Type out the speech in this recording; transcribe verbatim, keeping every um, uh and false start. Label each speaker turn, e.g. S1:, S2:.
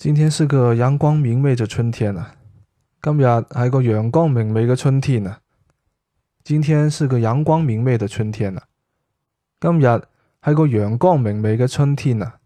S1: 今天是個陽光明媚嘅春天啊！今日係個陽光明媚嘅春天啊！今天是個陽光明媚嘅春天啊！今日係個陽光明媚嘅春天啊！